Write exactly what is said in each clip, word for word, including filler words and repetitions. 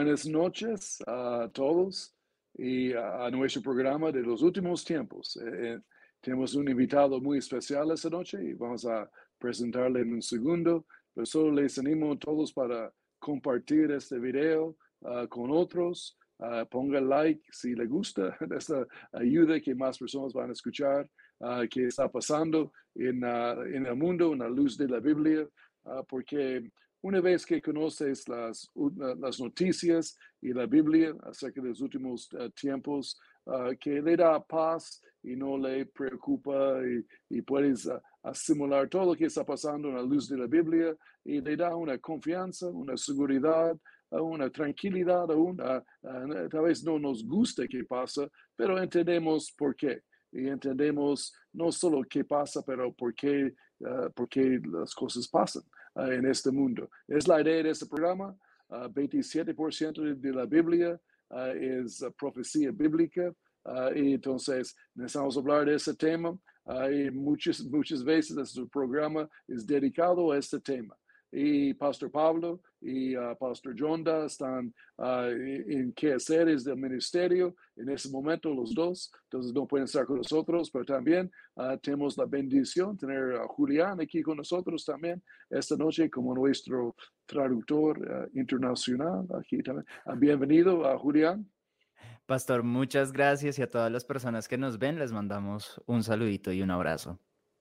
buenas noches a todos y a, a nuestro programa de los últimos tiempos. Eh, eh, tenemos un invitado muy especial esta noche y vamos a presentarle en un segundo, pero solo les animo a todos para compartir este video uh, con otros. Uh, ponga like si le gusta esta ayuda que más personas van a escuchar uh, qué está pasando en, uh, en el mundo, en la luz de la Biblia, uh, porque una vez que conoces las, las noticias y la Biblia acerca de los últimos uh, tiempos, uh, que le da paz y no le preocupa y, y puedes uh, asimilar todo lo que está pasando en la luz de la Biblia y le da una confianza, una seguridad, uh, una tranquilidad aún. Uh, uh, tal vez no nos gusta qué pasa, pero entendemos por qué. Y entendemos no solo qué pasa, pero por qué, uh, por qué las cosas pasan uh, en este mundo. Es la idea de este programa. Uh, veintisiete por ciento de, de la Biblia uh, es uh, profecía bíblica. Uh, y entonces necesitamos hablar de ese tema. Uh, y muchas, muchas veces este programa es dedicado a este tema. Y Pastor Pablo y uh, Pastor Jonda están uh, en quehaceres del ministerio en ese momento los dos, entonces no pueden estar con nosotros, pero también uh, tenemos la bendición de tener a Julián aquí con nosotros también esta noche como nuestro traductor uh, internacional aquí también. Uh, bienvenido a uh, Julián. Pastor, muchas gracias y a todas las personas que nos ven les mandamos un saludito y un abrazo.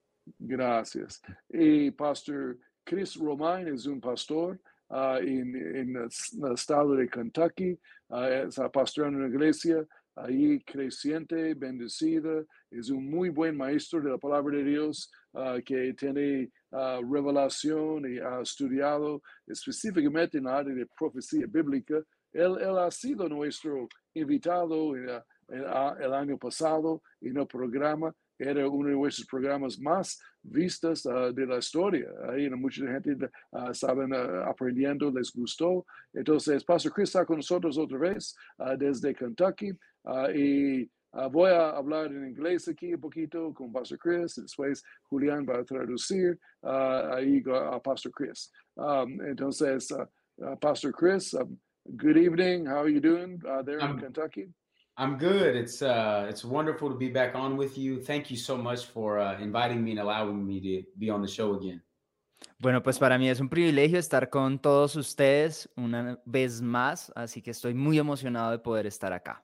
Gracias. Y Pastor Chris Romain es un pastor uh, en, en, el estado de Kentucky, uh, está pastoreando una iglesia ahí creciente, bendecida, es un muy buen maestro de la palabra de Dios uh, que tiene uh, revelación y ha estudiado específicamente en la área de profecía bíblica. Él, él ha sido nuestro invitado en, uh, en, uh, el año pasado en el programa. Era uno de nuestros programas más vistos uh, de la historia. Ahí mucha gente uh, estaban uh, aprendiendo, les gustó. Entonces, Pastor Chris está con nosotros otra vez uh, desde Kentucky. Uh, y uh, voy a hablar en inglés aquí un poquito con Pastor Chris. Después Julián va a traducir uh, ahí a Pastor Chris. Um, entonces, uh, uh, Pastor Chris, um, good evening. How are you doing uh, there I'm, in Kentucky? I'm good. It's uh, it's wonderful to be back on with you. Thank you so much for uh, inviting me and allowing me to be on the show again. Bueno, pues para mí es un privilegio estar con todos ustedes una vez más, así que estoy muy emocionado de poder estar acá.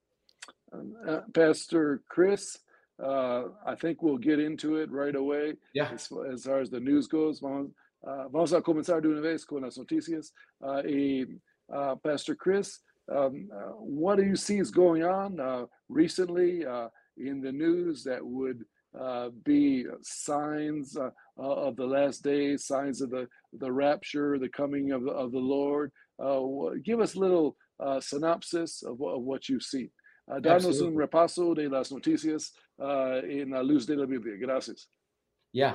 Uh, Pastor Chris, uh, I think we'll get into it right away. Yeah. As, as far as the news goes, vamos, uh, vamos a comenzar de una vez con las noticias. Uh, y uh, Pastor Chris, um, uh, what do you see is going on uh, recently uh, in the news that would uh, be signs uh, of the last days, signs of the, the rapture, the coming of the, of the Lord? Uh, give us a little uh, synopsis of, of what you see. Uh, danos un repaso de las noticias uh, en la luz de la Biblia. Gracias. Yeah.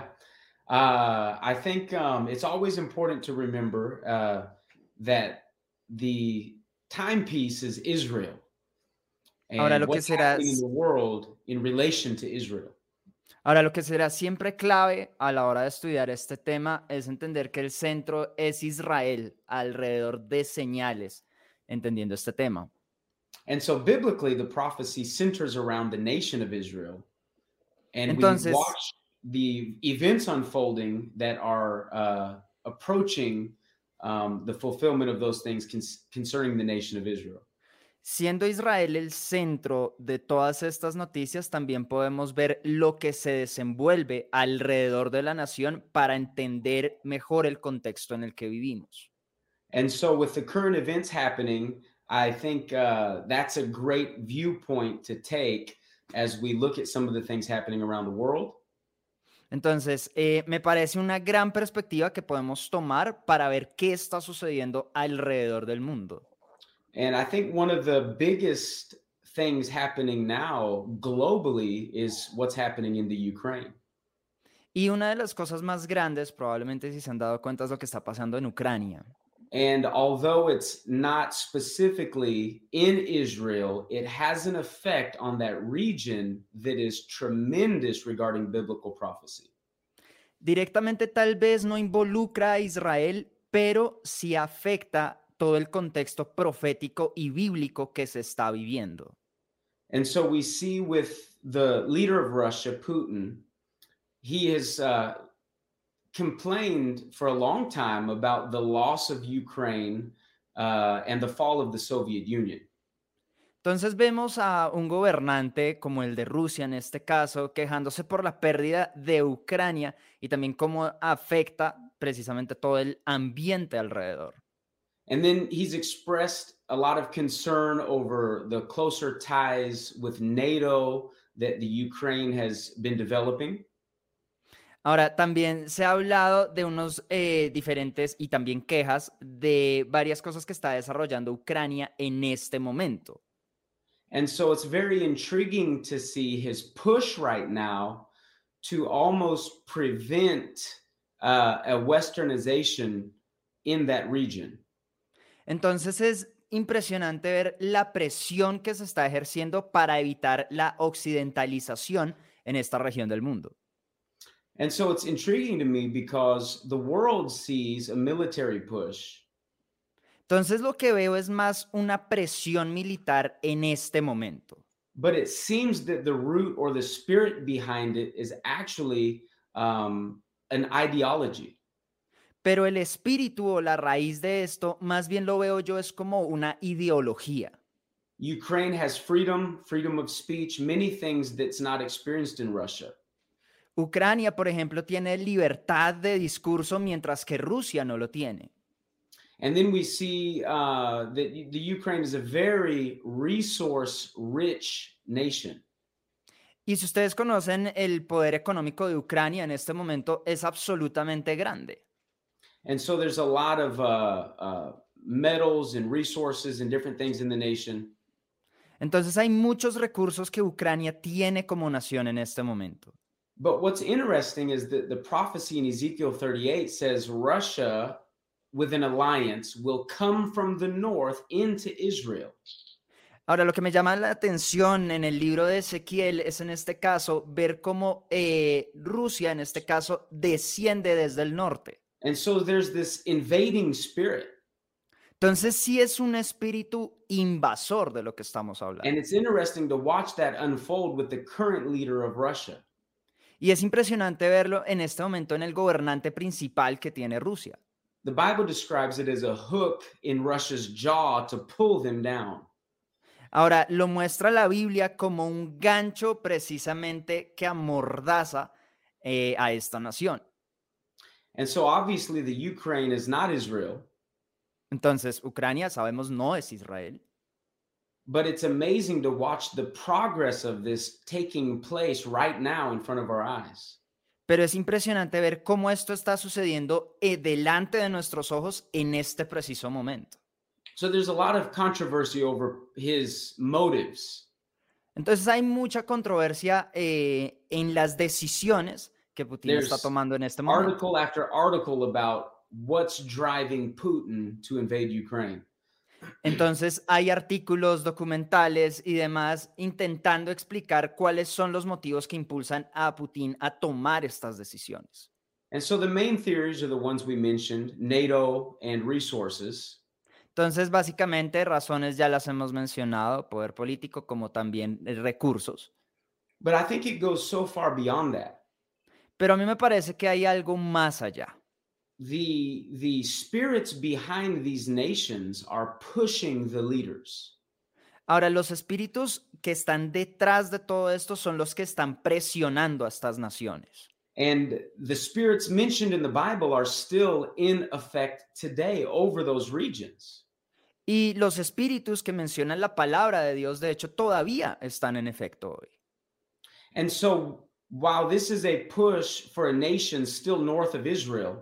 Uh, I think um, it's always important to remember uh, that the timepiece is Israel and Ahora lo que what's será, happening in the world in relation to Israel. ahora lo que será siempre clave a la hora de estudiar este tema es entender que el centro es Israel alrededor de señales, entendiendo este tema. And so biblically, the prophecy centers around the nation of Israel. And Entonces, we watch the events unfolding that are uh, approaching um, the fulfillment of those things con- concerning the nation of Israel. siendo Israel el centro de todas estas noticias, también podemos ver lo que se desenvuelve alrededor de la nación para entender mejor el contexto en el que vivimos. And so with the current events happening, I think uh, that's a great viewpoint to take as we look at some of the things happening around the world. Entonces, eh, me parece una gran perspectiva que podemos tomar para ver qué está sucediendo alrededor del mundo. And I think one of the biggest things happening now globally is what's happening in the Ukraine. Y una de las cosas más grandes, probablemente si se han dado cuenta, es lo que está pasando en Ucrania. And although it's not specifically in Israel, it has an effect on that region that is tremendous regarding biblical prophecy. Directamente tal vez no involucra a Israel, pero sí afecta todo el contexto profético y bíblico que se está viviendo. And so we see with the leader of Russia, Putin, he has uh, complained for a long time about the loss of Ukraine uh, and the fall of the Soviet Union. Entonces vemos a un gobernante como el de Rusia en este caso quejándose por la pérdida de Ucrania y también cómo afecta precisamente todo el ambiente alrededor. And then he's expressed a lot of concern over the closer ties with NATO that the Ukraine has been developing. Ahora, también se ha hablado de unos eh, diferentes y también quejas de varias cosas que está desarrollando Ucrania en este momento. And so it's very intriguing to see his push right now to almost prevent uh, a westernization in that region. Entonces es impresionante ver la presión que se está ejerciendo para evitar la occidentalización en esta región del mundo. And so it's intriguing to me because the world sees a military push. Entonces lo que veo es más una presión militar en este momento. But it seems that the root or the spirit behind it is actually um, an ideology. Pero el espíritu o la raíz de esto, más bien lo veo yo, es como una ideología. Ukraine has freedom, freedom of speech, many things that's not experienced in Russia. Ucrania, por ejemplo, tiene libertad de discurso, mientras que Rusia no lo tiene. And then we see uh, that the Ukraine is a very resource-rich nation. Y si ustedes conocen el poder económico de Ucrania en este momento, es absolutamente grande. And so there's a lot of uh, uh, metals and resources and different things in the nation. Entonces hay muchos recursos que Ucrania tiene como nación en este momento. But what's interesting is that the prophecy in Ezekiel thirty-eight says Russia, with an alliance, will come from the north into Israel. Ahora, lo que me llama la atención en el libro de Ezequiel es en este caso ver cómo eh, Rusia, en este caso, desciende desde el norte. And so there's this invading spirit. Entonces sí es un espíritu invasor de lo que estamos hablando. And it's interesting to watch that unfold with the current leader of Russia. Y es impresionante verlo en este momento en el gobernante principal que tiene Rusia. The Bible describes it as a hook in Russia's jaw to pull them down. Ahora, lo muestra la Biblia como un gancho precisamente que amordaza eh, a esta nación. And so obviously the Ukraine is not Israel. Entonces, Ucrania, sabemos, no es Israel. But it's amazing to watch the progress of this taking place right now in front of our eyes. Pero es impresionante ver cómo esto está sucediendo eh, delante de nuestros ojos en este preciso momento. So there's a lot of controversy over his motives. Entonces hay mucha controversia eh, en las decisiones que Putin There's está tomando en este momento. Article after article about what's driving Putin to invade Ukraine. Entonces hay artículos, documentales y demás intentando explicar cuáles son los motivos que impulsan a Putin a tomar estas decisiones. And so the main theories are the ones we mentioned, NATO and resources. Entonces, básicamente, razones ya las hemos mencionado, poder político como también eh, recursos. But I think it goes so far beyond that. Pero a mí me parece que hay algo más allá. The, the spirits behind these nations are pushing the leaders. Ahora, los espíritus que están detrás de todo esto son los que están presionando a estas naciones. And the spirits mentioned in the Bible are still in effect today over those regions. Y los espíritus que mencionan la palabra de Dios, de hecho, todavía están en efecto hoy. And so while this is a push for a nation still north of Israel,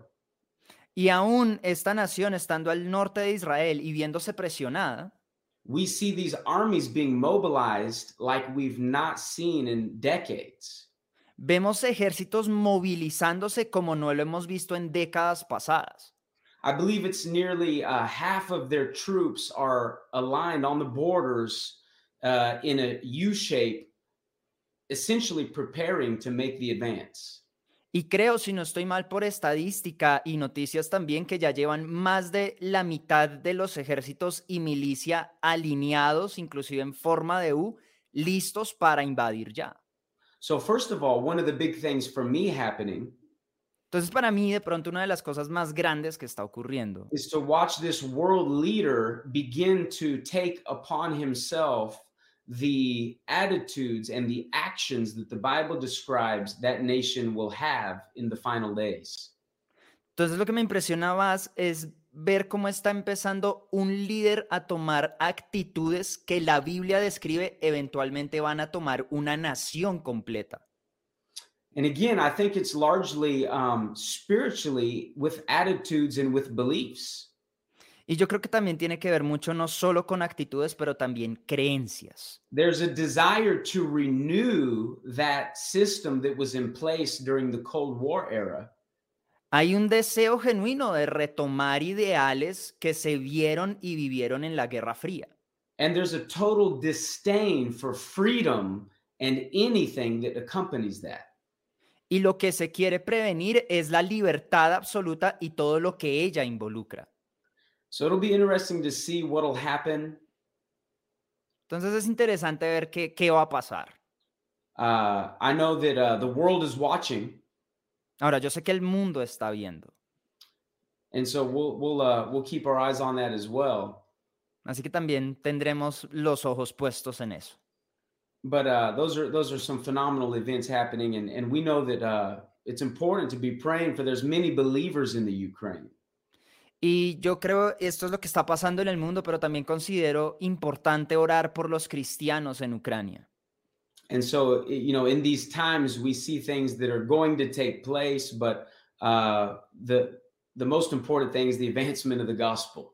Y aún esta nación estando al norte de Israel y viéndose presionada, we see these armies being mobilized like we've not seen in decades. vemos ejércitos movilizándose como no lo hemos visto en décadas pasadas. I believe it's nearly uh, half of their troops are aligned on the borders uh, in a U shape, essentially preparing to make the advance. Y creo, si no estoy mal por estadística y noticias también, que ya llevan más de la mitad de los ejércitos y milicia alineados, inclusive en forma de U, listos para invadir ya. So first of all, one of the big things for me happening Entonces, para mí, de pronto, una de las cosas más grandes que está ocurriendo is to watch this world leader begin to take upon himself the attitudes and the actions that the Bible describes that nation will have in the final days. Entonces, lo que me impresiona más es ver cómo está empezando un líder a tomar actitudes que la Biblia describe eventualmente van a tomar una nación completa. And again, I think it's largely um, spiritually with attitudes and with beliefs. Y yo creo que también tiene que ver mucho no solo con actitudes, pero también creencias. There's a desire to renew that system that was in place during the Cold War era. Hay un deseo genuino de retomar ideales que se vieron y vivieron en la Guerra Fría. And there's a total disdain for freedom and anything that accompanies that. Y lo que se quiere prevenir es la libertad absoluta y todo lo que ella involucra. So it'll be interesting to see what'll happen. Entonces es interesante ver qué, qué va a pasar. Uh, I know that uh, the world is watching, Ahora, yo sé que el mundo está viendo, and so we'll we'll uh, we'll keep our eyes on that as well. así que también tendremos los ojos puestos en eso. But uh, those are those are some phenomenal events happening, and and we know that uh, it's important to be praying for. There's many believers in the Ukraine. Y yo creo esto es lo que está pasando en el mundo, pero también considero importante orar por los cristianos en Ucrania. And so, you know, in these times, we see things that are going to take place, but uh, the the most important thing is the advancement of the gospel.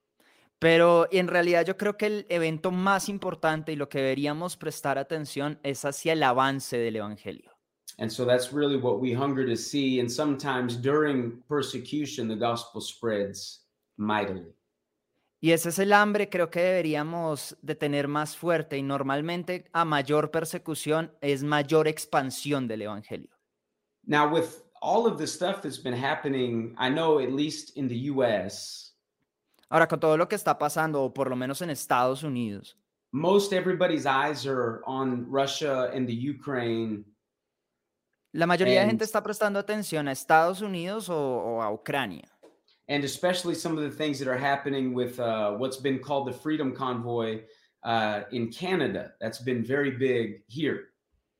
Pero en realidad yo creo que el evento más importante y lo que deberíamos prestar atención es hacia el avance del evangelio. And so that's really what we hunger to see. And sometimes during persecution, the gospel spreads mightily. Y ese es el hambre, creo que deberíamos de tener más fuerte, y normalmente a mayor persecución es mayor expansión del evangelio. Now, with all of the stuff that's been happening, I know at least in the U S, Ahora, con todo lo que está pasando, o por lo menos en Estados Unidos, most everybody's eyes are on Russia and the Ukraine. la mayoría de And- gente está prestando atención a Estados Unidos o, o a Ucrania. And especially some of the things that are happening with uh, what's been called the Freedom Convoy uh, in Canada. That's been very big here.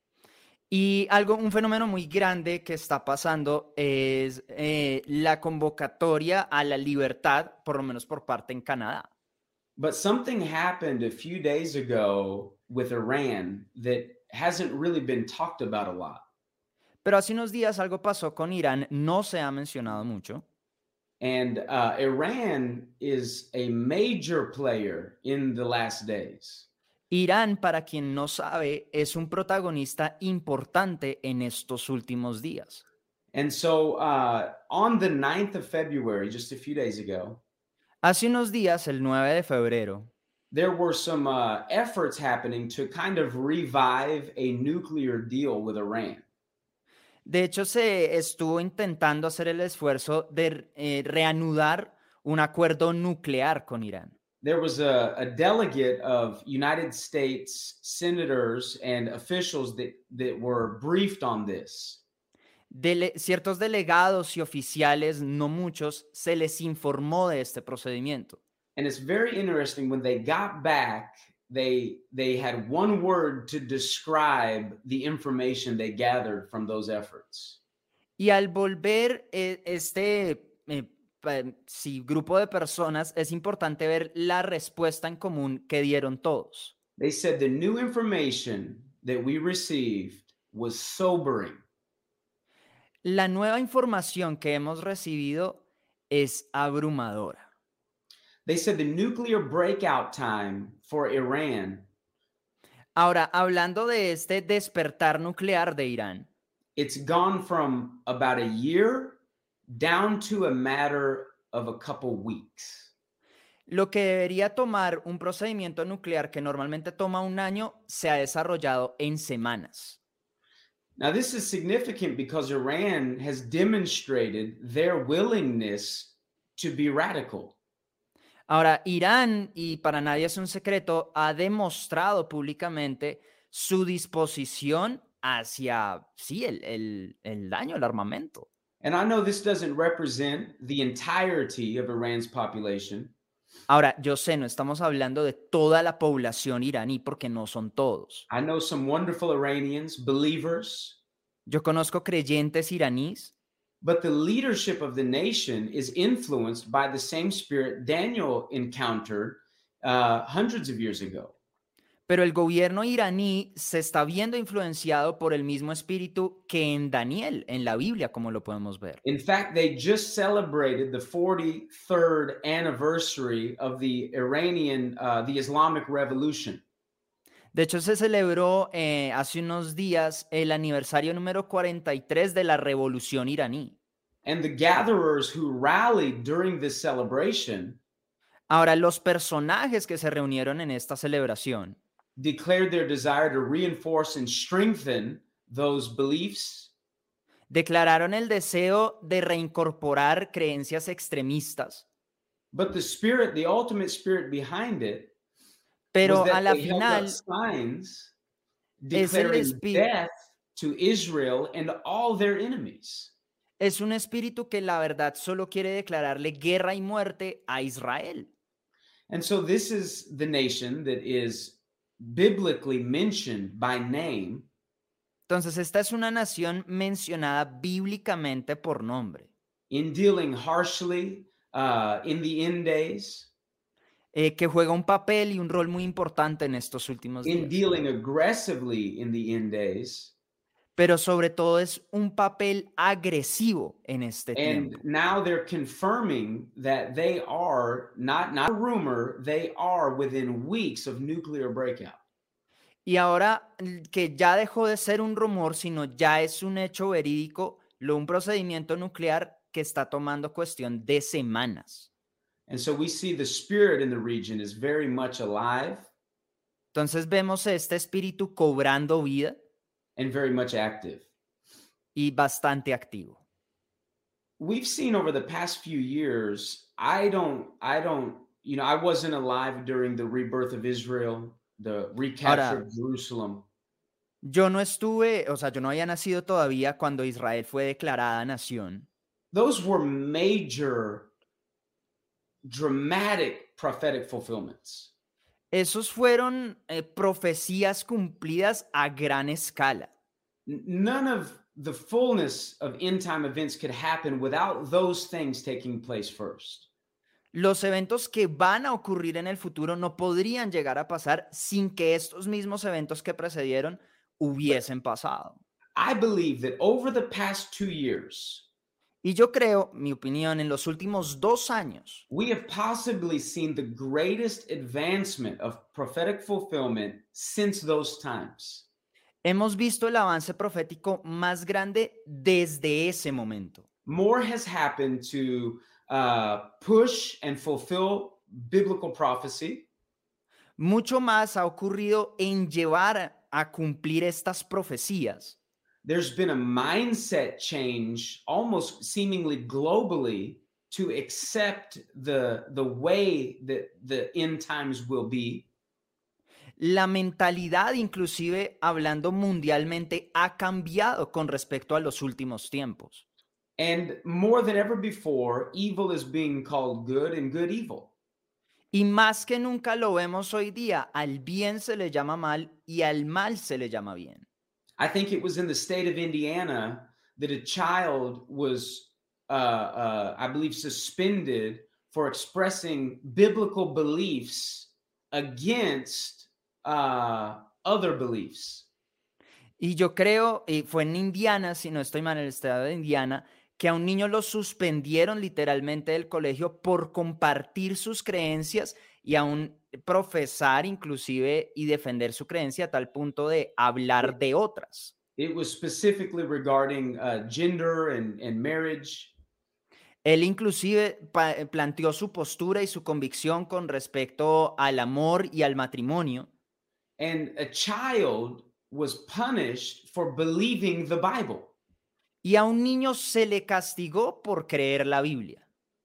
Y algo, un fenómeno muy grande que está pasando es eh, la convocatoria a la libertad, por lo menos por parte en Canadá. But something happened a few days ago with Iran that hasn't really been talked about a lot. Pero hace unos días algo pasó con Irán, no se ha mencionado mucho. And uh, Iran is a major player in the last days. Irán, para quien no sabe, es un protagonista importante en estos últimos días. And so uh, on the ninth of February, just a few days ago, Hace unos días, el nueve de febrero, there were some uh, efforts happening to kind of revive a nuclear deal with Iran. de hecho, se estuvo intentando hacer el esfuerzo de eh, reanudar un acuerdo nuclear con Irán. There was a, a delegate of United States senators and officials that, that were briefed on this. Dele- ciertos delegados y oficiales, no muchos, se les informó de este procedimiento. And it's very interesting, when they got back, they they had one word to describe the information they gathered from those efforts. Y al volver eh, este eh, pa- sí, grupo de personas, es importante ver la respuesta en común que dieron todos. They said the new information that we received was sobering. La nueva información que hemos recibido es abrumadora. They said the nuclear breakout time for Iran, Ahora, hablando de este despertar nuclear de Irán, it's gone from about a year down to a matter of a couple weeks. lo que debería tomar un procedimiento nuclear que normalmente toma un año, se ha desarrollado en semanas. Now, this is significant because Iran has demonstrated their willingness to be radical. Ahora, Irán, y para nadie es un secreto, ha demostrado públicamente su disposición hacia, sí, el, el, el daño, el armamento. And I know this doesn't represent the entirety of Iran's population. Ahora, yo sé, no estamos hablando de toda la población iraní porque no son todos. I know some wonderful Iranians, believers, Yo conozco creyentes iraníes, but the leadership of the nation is influenced by the same spirit Daniel encountered uh, hundreds of years ago. pero el gobierno iraní se está viendo influenciado por el mismo espíritu que en Daniel, en la Biblia, como lo podemos ver. In fact, they just celebrated the forty-third anniversary of the Iranian, uh, the Islamic Revolution. De hecho, se celebró eh, hace unos días el aniversario número cuarenta y tres de la Revolución iraní. And the gatherers who rallied during this celebration Ahora, los personajes que se reunieron en esta celebración declared their desire to reinforce and strengthen those beliefs, declararon el deseo de reincorporar creencias extremistas, but the spirit, the ultimate spirit behind it, pero was a that la they held up final signs es el declaring espí- death to Israel and all their enemies. es un espíritu que la verdad solo quiere declararle guerra y muerte a Israel. And so this is the nation that is biblically mentioned by name, Entonces, esta es una nación mencionada bíblicamente por nombre, in dealing harshly uh, in the end days, eh, que juega un papel y un rol muy importante en estos últimos in días, dealing aggressively in the end days. pero sobre todo es un papel agresivo en este And tiempo. now they're confirming that they are not not a rumor, they are within weeks of nuclear breakout. Y ahora l- que ya dejó de ser un rumor, sino ya es un hecho verídico, lo un procedimiento nuclear que está tomando cuestión de semanas. And so we see the spirit in the region is very much alive Entonces vemos este espíritu cobrando vida and very much active. y bastante activo. We've seen over the past few years, I don't, I don't, you know, I wasn't alive during the rebirth of Israel, the recapture Ahora- of Jerusalem. Yo no estuve, o sea, yo no había nacido todavía cuando Israel fue declarada nación. Those were major, dramatic prophetic fulfillments. Esos fueron eh, profecías cumplidas a gran escala. N- None of the fullness of end time events could happen without those things taking place first. Los eventos que van a ocurrir en el futuro no podrían llegar a pasar sin que estos mismos eventos que precedieron hubiesen pasado. I believe that over the past two years, Y yo creo, mi opinión, en los últimos dos años, we have possibly seen the greatest advancement of prophetic fulfillment since those times. hemos visto el avance profético más grande desde ese momento. More has happened to uh, push and fulfill biblical prophecy Mucho más ha ocurrido en llevar a cumplir estas profecías. there's been a mindset change almost seemingly globally to accept the the way that the end times will be. La mentalidad, inclusive hablando mundialmente, ha cambiado con respecto a los últimos tiempos. And more than ever before, evil is being called good and good evil. Y más que nunca lo vemos hoy día, al bien se le llama mal y al mal se le llama bien. I think it was in the state of Indiana that a child was, uh, uh, I believe, suspended for expressing biblical beliefs against uh, other beliefs. Y yo creo, y fue en Indiana, si no estoy mal, en el estado de Indiana, que a un niño lo suspendieron literalmente del colegio por compartir sus creencias y aún profesar inclusive y defender su creencia a tal punto de hablar de otras. It was specifically regarding uh, gender and, and marriage. Él inclusive pa- planteó su postura y su convicción con respecto al amor y al matrimonio. And a child was punished for believing the Bible. Y a un niño se le castigó por creer la Biblia.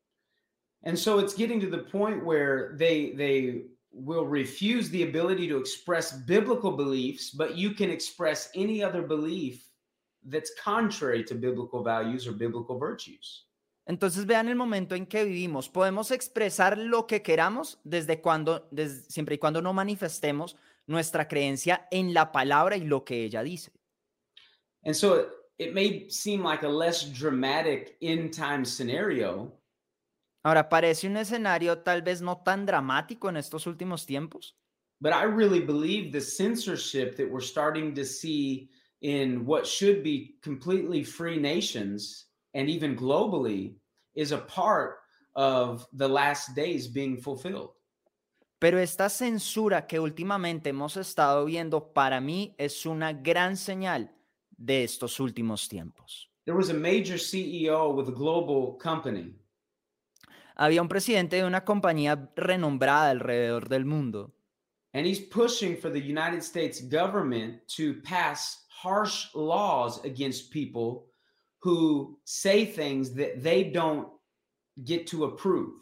And so it's getting to the point where they they will refuse the ability to express biblical beliefs, but you can express any other belief that's contrary to biblical values or biblical virtues. Entonces vean el momento en que vivimos. Podemos expresar lo que queramos desde cuando, desde, siempre y cuando no manifestemos nuestra creencia en la palabra y lo que ella dice. And so it, it may seem like a less dramatic end time scenario. Ahora, parece un escenario tal vez no tan dramático en estos últimos tiempos, But I really believe the censorship that we're starting to see in what should be completely free nations and even globally is a part of the last days being fulfilled. pero esta censura que últimamente hemos estado viendo para mí es una gran señal de estos últimos tiempos. There was a major C E O with a global company, Había un presidente de una compañía renombrada alrededor del mundo and he's pushing for the United States government to pass harsh laws against people who say things that they don't get to approve.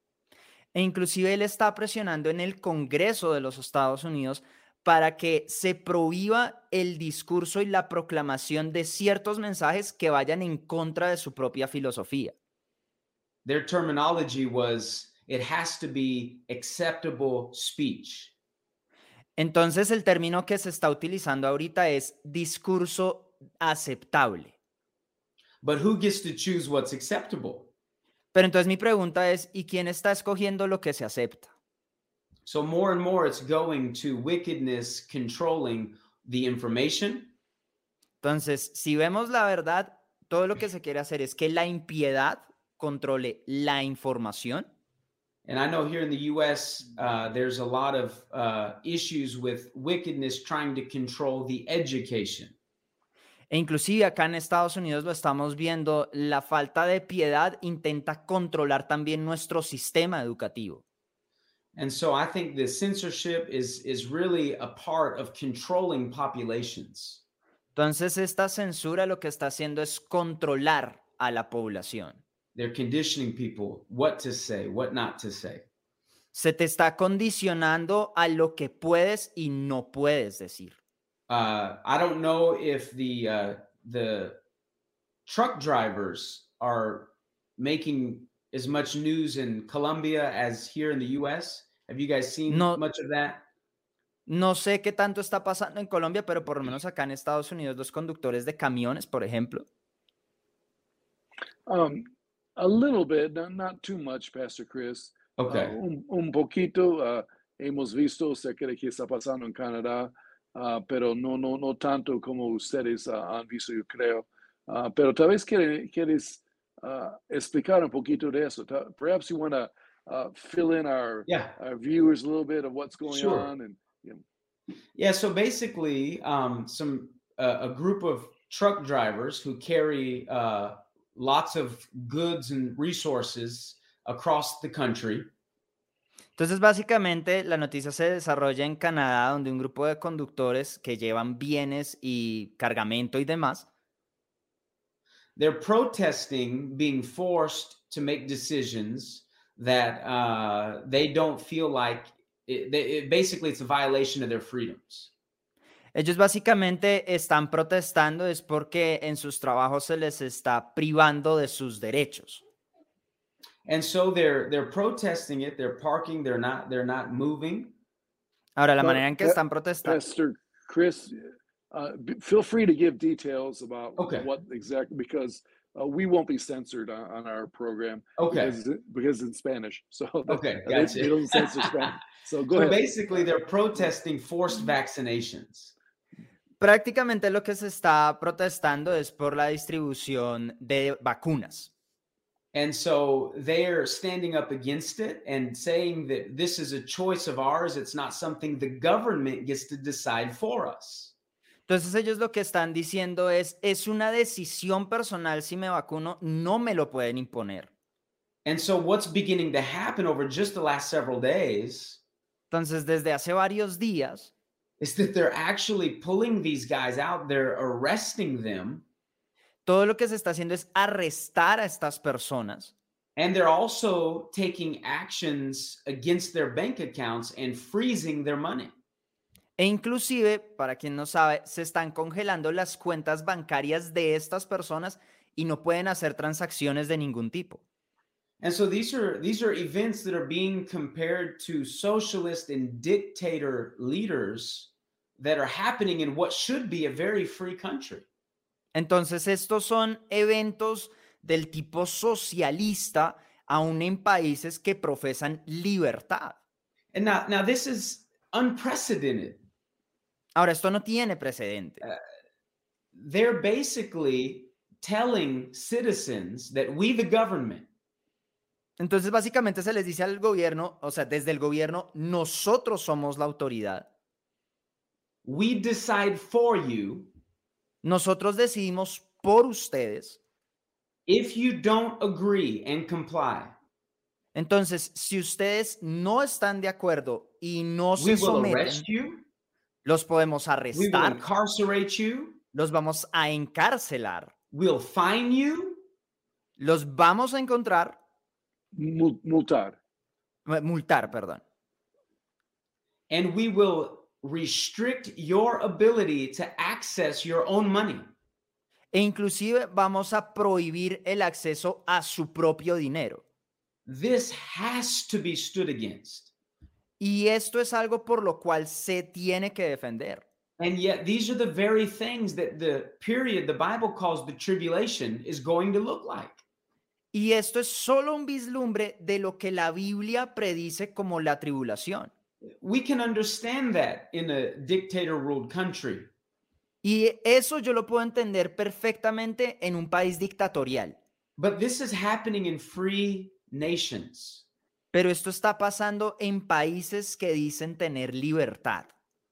e inclusive él está presionando en el Congreso de los Estados Unidos para que se prohíba el discurso y la proclamación de ciertos mensajes que vayan en contra de su propia filosofía. Their terminology was, it has to be acceptable speech. Entonces el término que se está utilizando ahorita es discurso aceptable. But who gets to choose what's acceptable? Pero entonces mi pregunta es, ¿y quién está escogiendo lo que se acepta? So more and more it's going to wickedness controlling the information. Entonces, si vemos la verdad, todo lo que se quiere hacer es que la impiedad controle la información. And I know here in the U S, uh, there's a lot of uh, issues with wickedness trying to control the education. E inclusive acá en Estados Unidos lo estamos viendo, la falta de piedad intenta controlar también nuestro sistema educativo. And so I think the censorship is, is really a part of controlling populations. Entonces esta censura lo que está haciendo es controlar a la población. They're conditioning people what to say, what not to say. Se te está condicionando a lo que puedes y no puedes decir. Uh, I don't know if the uh, the truck drivers are making as much news in Colombia as here in the U S. Have you guys seen No. much of that? No sé qué tanto está pasando en Colombia, pero por lo menos acá en Estados Unidos los conductores de camiones, por ejemplo, Um, a little bit, not, not too much, Pastor Chris. Okay. Uh, un, un poquito uh, hemos visto, sé que aquí está pasando en Canadá, uh, pero no, no, no tanto como ustedes uh, han visto, yo creo. Uh, pero tal vez quiere- quieres uh, explicar un poquito de eso. Ta- Perhaps you want to uh, fill in our, Yeah. our viewers a little bit of what's going Sure. on. And you know, Yeah. So basically, um, some uh, a group of truck drivers who carry uh, lots of goods and resources across the country. entonces básicamente la noticia se desarrolla en Canadá, donde un grupo de conductores que llevan bienes y cargamento y demás, They're protesting being forced to make decisions that uh, they don't feel like it, they, it, basically it's a violation of their freedoms. ellos básicamente están protestando es porque en sus trabajos se les está privando de sus derechos. And so they're they're protesting it, they're parking, they're not they're not moving. Ahora, la Well, manera en que pa- están protestando, Pastor Chris, uh, b- feel free to give details about Okay. what exactly, because uh, we won't be censored on, on our program. Okay. Because, it- because it's Spanish. So that- Okay, they, gotcha. they don't censor Spanish. So go So ahead. basically they're protesting forced vaccinations. prácticamente lo que se está protestando es por la distribución de vacunas. And so they're standing up against it and saying that this is a choice of ours. It's not something the government gets to decide for us. Entonces ellos lo que están diciendo es, es una decisión personal si me vacuno, no me lo pueden imponer. And so what's beginning to happen over just the last several days Entonces desde hace varios días, is that they're actually pulling these guys out, they're arresting them, Todo lo que se está haciendo es arrestar a estas personas and they're also taking actions against their bank accounts and freezing their money. e inclusive, para quien no sabe, se están congelando las cuentas bancarias de estas personas y no pueden hacer transacciones de ningún tipo. And so these are these are events that are being compared to socialist and dictator leaders that are happening in what should be a very free country. Entonces, estos son eventos del tipo socialista, aún en países que profesan libertad. And now, now this is unprecedented. Ahora, esto no tiene precedente. They're basically telling citizens that we, the government, Entonces, básicamente se les dice al gobierno, o sea, desde el gobierno, nosotros somos la autoridad. we decide for you. Nosotros decidimos por ustedes. If you don't agree and comply, Entonces, si ustedes no están de acuerdo y no we se will someten, arrest you, los podemos we will arrestar, incarcerate you, los vamos a encarcelar, we'll fine you, los vamos a encontrar, Mul- Multar. eh, multar, perdón. and we will restrict your ability to access your own money. E inclusive vamos a prohibir el acceso a su propio dinero. This has to be stood against. Y esto es algo por lo cual se tiene que defender. And yet, these are the very things that the period the Bible calls the tribulation is going to look like. Y esto es solo un vislumbre de lo que la Biblia predice como la tribulación. We can understand that in a dictator ruled country. Y eso yo lo puedo entender perfectamente en un país dictatorial. But this is happening in free nations. Pero esto está pasando en países que dicen tener libertad.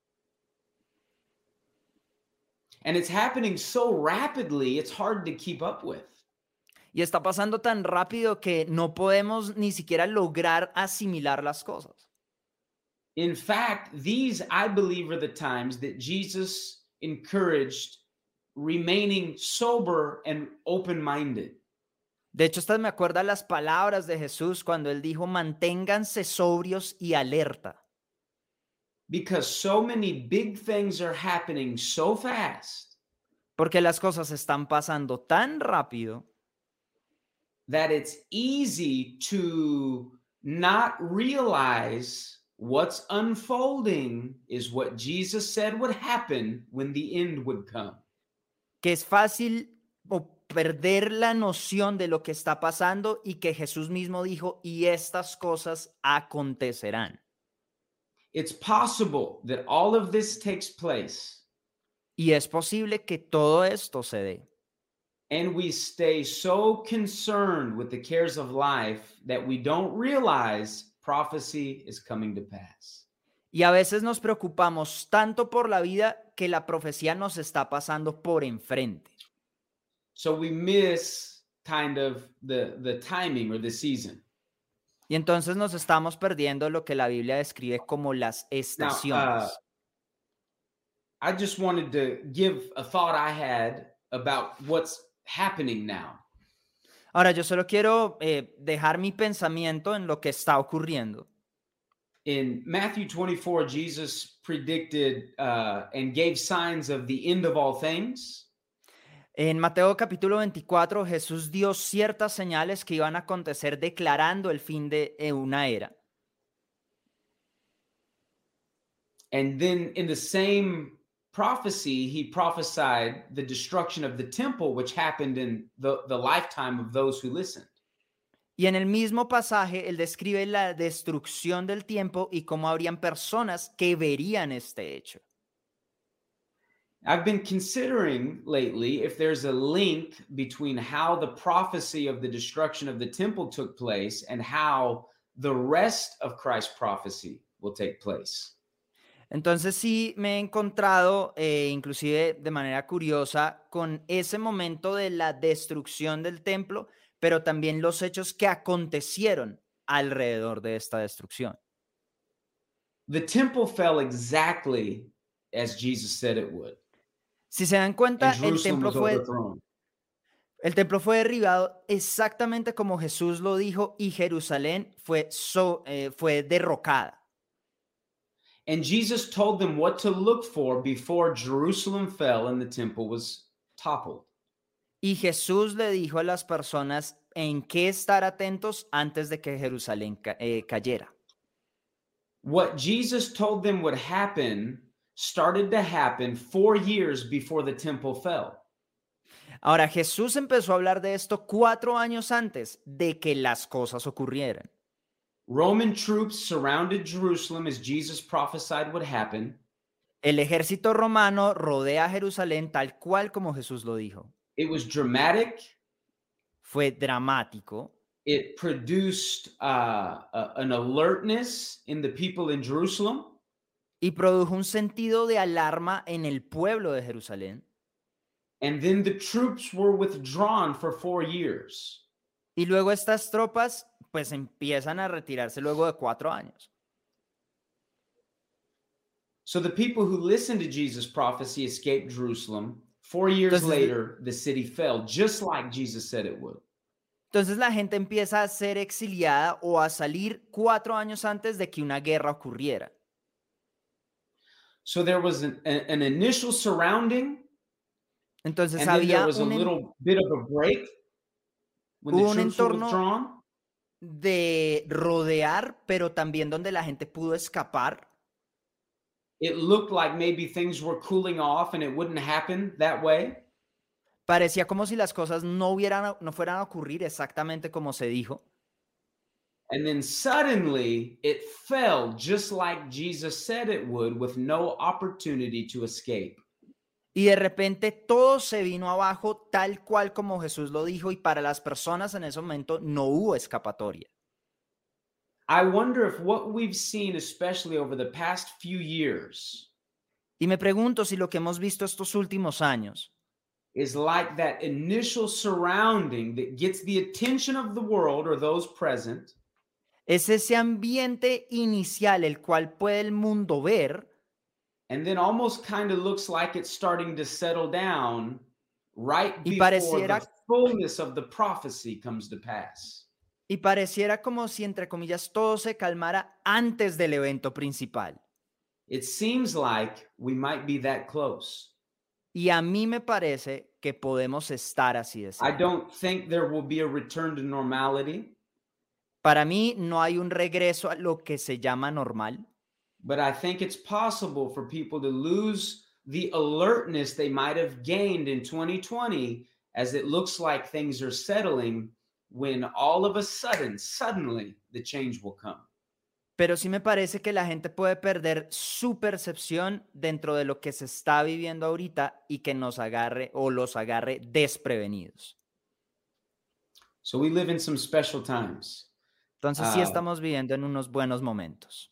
And it's happening so rapidly, it's hard to keep up with. Y está pasando tan rápido que no podemos ni siquiera lograr asimilar las cosas. In fact, these, I believe, are the times that Jesus encouraged remaining sober and open-minded. De hecho, estas me acuerdan las palabras de Jesús cuando él dijo, manténganse sobrios y alerta. Because so many big things are happening so fast Porque las cosas están pasando tan rápido that it's easy to not realize what's unfolding is what Jesus said would happen when the end would come. que es fácil o perder la noción de lo que está pasando y que Jesús mismo dijo, y estas cosas acontecerán. It's possible that all of this takes place Y es posible que todo esto se dé. and we stay so concerned with the cares of life that we don't realize prophecy is coming to pass. Y a veces nos preocupamos tanto por la vida que la profecía nos está pasando por enfrente. So we miss kind of the, the timing or the season. Y entonces nos estamos perdiendo lo que la Biblia describe como las Now, estaciones. uh, I just wanted to give a thought I had about what's happening now. Ahora, yo solo quiero eh, dejar mi pensamiento en lo que está ocurriendo. In Matthew twenty-four, Jesus predicted uh, and gave signs of the end of all things. En Mateo capítulo veinticuatro, Jesús dio ciertas señales que iban a acontecer declarando el fin de eh, una era. And then in the same prophecy, he prophesied the destruction of the temple, which happened in the, the lifetime of those who listened. Y en el mismo pasaje, él describe la destrucción del tiempo y cómo habrían personas que verían este hecho. I've been considering lately if there's a link between how the prophecy of the destruction of the temple took place and how the rest of Christ's prophecy will take place. Entonces sí me he encontrado, eh, inclusive de manera curiosa, con ese momento de la destrucción del templo, pero también los hechos que acontecieron alrededor de esta destrucción. The temple fell exactly as Jesus said it would. Si se dan cuenta, And el Jerusalem templo was fue, overthrown. el templo fue derribado exactamente como Jesús lo dijo y Jerusalén fue, so- eh, fue derrocada. And Jesus told them what to look for before Jerusalem fell and the temple was toppled. Y Jesús le dijo a las personas en qué estar atentos antes de que Jerusalén ca- eh, cayera. What Jesus told them would happen started to happen four years before the temple fell. Ahora, Jesús empezó a hablar de esto cuatro años antes de que las cosas ocurrieran. Roman troops surrounded Jerusalem as Jesus prophesied would happen. El ejército romano rodea Jerusalén tal cual como Jesús lo dijo. It was dramatic. Fue dramático. It produced uh, a- an alertness in the people in Jerusalem. Y produjo un sentido de alarma en el pueblo de Jerusalén. And then the troops were withdrawn for four years. Y luego estas tropas pues empiezan a retirarse luego de cuatro años. So the people who listened to Jesus' prophecy escaped Jerusalem. Four years Entonces- later, the city fell, just like Jesus said it would. Entonces la gente empieza a ser exiliada o a salir cuatro años antes de que una guerra ocurriera. So there was an, a- an initial surrounding, Entonces and then there había was a un en- little bit of a break when the Hubo un troops were entorno- withdrawn. de rodear, pero también donde la gente pudo escapar. It looked like maybe things were cooling off and it wouldn't happen that way. Parecía como si las cosas no, hubieran, no fueran a ocurrir exactamente como se dijo. And then suddenly it fell just like Jesus said it would, with no opportunity to escape. Y de repente todo se vino abajo tal cual como Jesús lo dijo y para las personas en ese momento no hubo escapatoria. I wonder if what we've seen, especially over the past few years, Y me pregunto si lo que hemos visto estos últimos años is like that initial surrounding that gets the attention of the world or those present, es ese ambiente inicial el cual puede el mundo ver and then almost kind of looks like it's starting to settle down right Y before pareciera- the fullness of the prophecy comes to pass. y pareciera como si entre comillas todo se calmara antes del evento principal. It seems like we might be that close. Y a mí me parece que podemos estar así de I cerca. don't think there will be a return to normality, Para mí no hay un regreso a lo que se llama normal, but I think it's possible for people to lose the alertness they might have gained in twenty twenty as it looks like things are settling, when all of a sudden, suddenly, the change will come. pero sí me parece que la gente puede perder su percepción dentro de lo que se está viviendo ahorita y que nos agarre o los agarre desprevenidos. So we live in some special times. Entonces sí Ah. estamos viviendo en unos buenos momentos.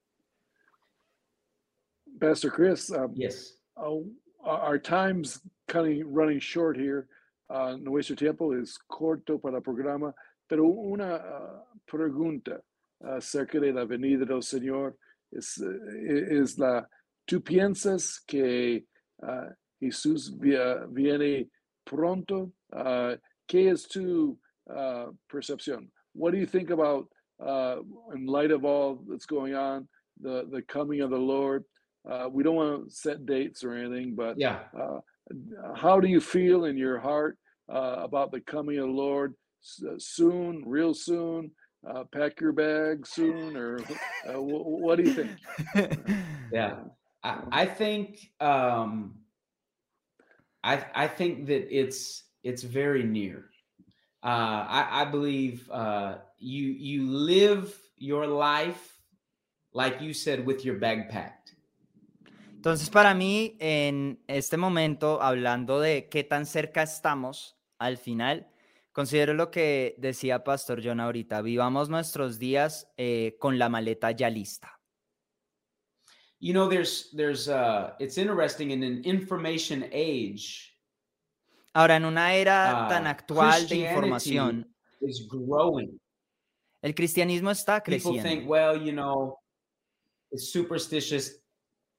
Pastor Chris, um, Yes. uh, our time's kind of running short here. Uh, nuestro tiempo es corto para el programa, pero una uh, pregunta acerca de la venida del Señor es, eh, es la, ¿tú piensas que uh, Jesús vi- viene pronto? Uh, ¿Qué es tu uh, percepción? What do you think about, uh, in light of all that's going on, the, the coming of the Lord? Uh, we don't want to set dates or anything, but Yeah. uh, how do you feel in your heart uh, about the coming of the Lord? S- soon, real soon, uh, pack your bag soon, or uh, w- what do you think? Yeah. I, I think um I I think that it's it's very near. Uh I, I believe uh you you live your life like you said with your bag packed. Entonces, para mí, en este momento, hablando de qué tan cerca estamos al final, considero lo que decía Pastor John ahorita, vivamos nuestros días eh, con la maleta ya lista. You know, there's there's uh it's interesting in an information age, Ahora, en una era tan uh, actual de Christianity información, is growing. el cristianismo está People creciendo. think, well, you know, it's superstitious.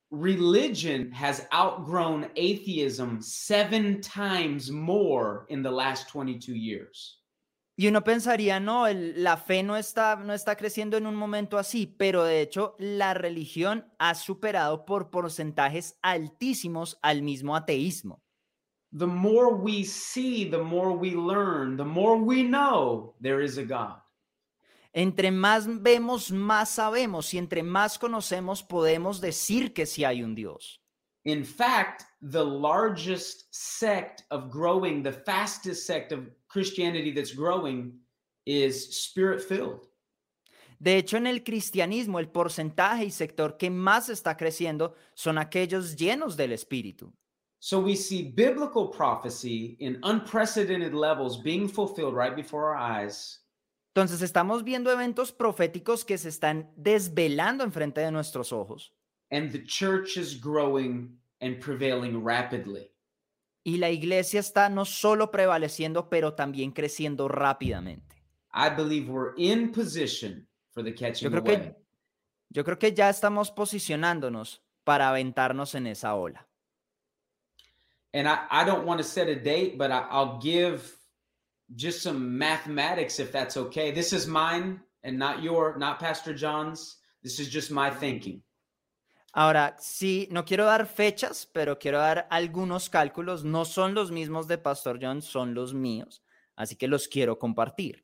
religion has outgrown atheism seven times more in the last twenty-two years. Y uno pensaría, no, el- la fe no está, no está creciendo en un momento así, pero de hecho la religión ha superado por porcentajes altísimos al mismo ateísmo. The more we see, the more we learn, the more we know there is a God. Entre más vemos, más sabemos, y entre más conocemos, podemos decir que sí hay un Dios. In fact, the largest sect of growing, the fastest sect of Christianity that's growing is spirit-filled. De hecho, en el cristianismo, el porcentaje y sector que más está creciendo son aquellos llenos del Espíritu. So we see biblical prophecy in unprecedented levels being fulfilled right before our eyes. Entonces, estamos viendo eventos proféticos que se están desvelando enfrente de nuestros ojos. And the church is growing and prevailing rapidly. Y la iglesia está no solo prevaleciendo, pero también creciendo rápidamente. I believe we're in position for the catching Yo creo away. que, yo creo que ya estamos posicionándonos para aventarnos en esa ola. And I, I don't want to set a date, but I, I'll give just some mathematics if that's okay. This is mine and not your, not Pastor John's. This is just my thinking. Ahora, sí, no quiero dar fechas, pero quiero dar algunos cálculos. No son los mismos de Pastor John, son los míos. Así que los quiero compartir.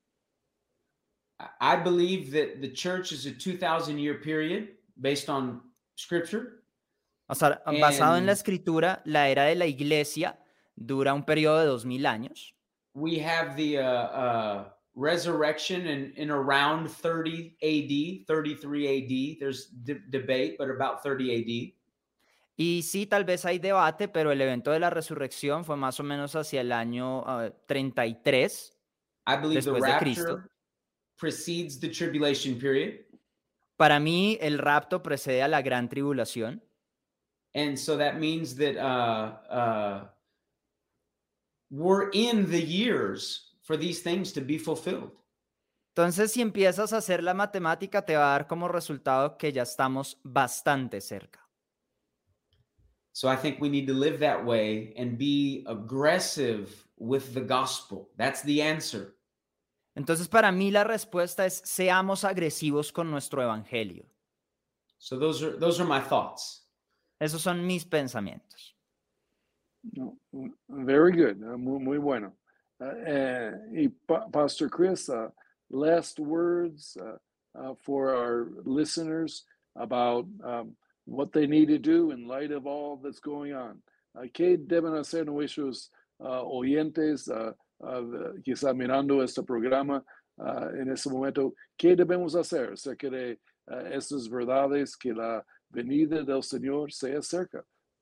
I I believe that the church is a two thousand year period based on scripture. O sea, basado en la And- escritura, la era de la iglesia dura un periodo de dos mil años. We have the uh, uh, resurrection in, in around thirty A D, thirty-three A D. There's de- debate, but about thirty A D. Y sí, tal vez hay debate, pero el evento de la resurrección fue más o menos hacia el año ah, treinta y tres I believe the después de rapture Cristo. precedes the tribulation period. Para mí, el rapto precede a la gran tribulación. And so that means that uh, uh, we're in the years for these things to be fulfilled. Entonces, si empiezas a hacer la matemática, te va a dar como resultado que ya estamos bastante cerca. So I think we need to live that way and be aggressive with the gospel. That's the answer. Entonces, para mí la respuesta es seamos agresivos con nuestro evangelio. So those are those are my thoughts. Esos son mis pensamientos. No, very good, uh, muy, muy bueno. Uh, eh, y Pa- Pastor Chris, uh, last words uh, uh, for our listeners about um, what they need to do in light of all that's going on. Uh, ¿Qué deben hacer nuestros uh, oyentes, uh, uh, quizá mirando este programa uh, en ese momento? ¿Qué debemos hacer acerca de uh, estas verdades que la venida del Señor sea cerca?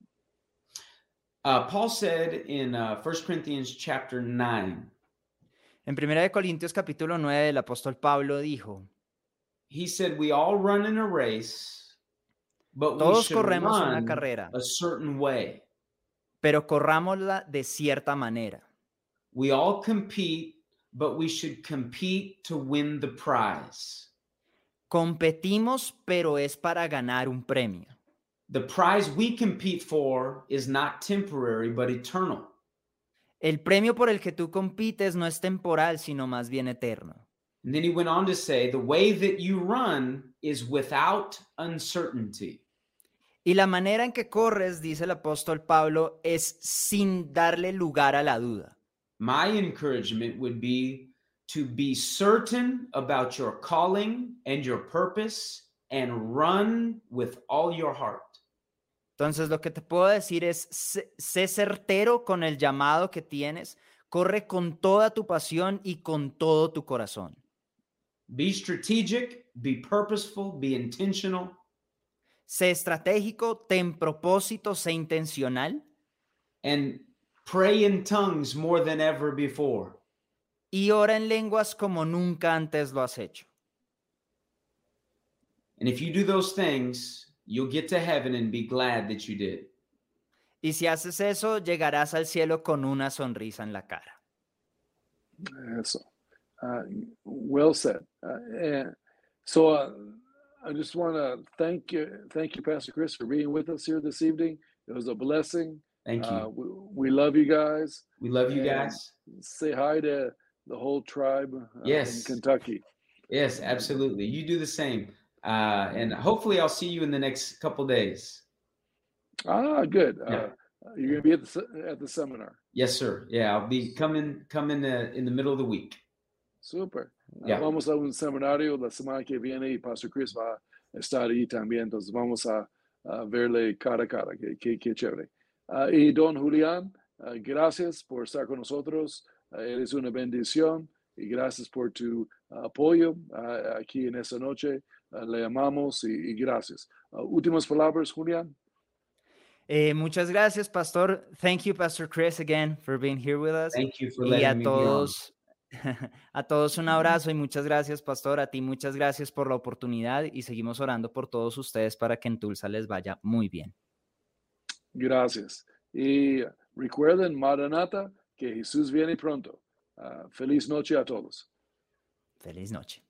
Uh, Paul said in uh, First Corinthians chapter nine, En primera de Corintios capítulo nueve, el apóstol Pablo dijo, he said, "We all run in a race, but we todos should corremos una run carrera, a certain way. pero corrámosla de cierta manera. We all compete, but we should compete to win the prize. Competimos, pero es para ganar un premio. The prize we compete for is not temporary, but eternal." El premio por el que tú compites no es temporal, sino más bien eterno. And then he went on to say, "The way that you run is without uncertainty." Y la manera en que corres, dice el apóstol Pablo, es sin darle lugar a la duda. My encouragement would be to be certain about your calling and your purpose and run with all your heart. Entonces, lo que te puedo decir es, sé, sé certero con el llamado que tienes, corre con toda tu pasión y con todo tu corazón. Be strategic, be purposeful, be intentional, Sé estratégico, ten propósito, sé intencional and pray in tongues more than ever before. y ora en lenguas como nunca antes lo has hecho. And if you do those things, you'll get to heaven and be glad that you did. Y si haces eso, llegarás al cielo con una sonrisa en la cara. Eso. Uh, well said. Uh, and so uh, I just want to thank you, thank you, Pastor Chris, for being with us here this evening. It was a blessing. Thank you. Uh, we, we love you guys. We love you And guys. say hi to the whole tribe uh, Yes. in Kentucky. Yes, absolutely. You do the same. Uh, and hopefully I'll see you in the next couple days. Ah, good. Yeah. Uh, you're going to be at the se- at the seminar. Yes, sir. Yeah, I'll be coming coming uh, in the middle of the week. Super. Uh, Yeah. vamos a un seminario la semana que viene y Pastor Chris va a estar ahí también. Entonces vamos a, a verle cara a cara. Qué, qué, qué chévere. Uh, y don Julián, uh, gracias por estar con nosotros. Uh, eres una bendición y gracias por tu uh, apoyo uh, aquí en esta noche. Uh, le amamos y, y gracias. Uh, últimas palabras, Julián. Eh, muchas gracias, Pastor. Thank you, Pastor Chris, again for being here with us. Thank you for Y letting a me be on. todos, a todos un abrazo y muchas gracias, Pastor. A ti muchas gracias por la oportunidad y seguimos orando por todos ustedes para que en Tulsa les vaya muy bien. Gracias. Y recuerden, Maranata, que Jesús viene pronto. Uh, feliz noche a todos. Feliz noche.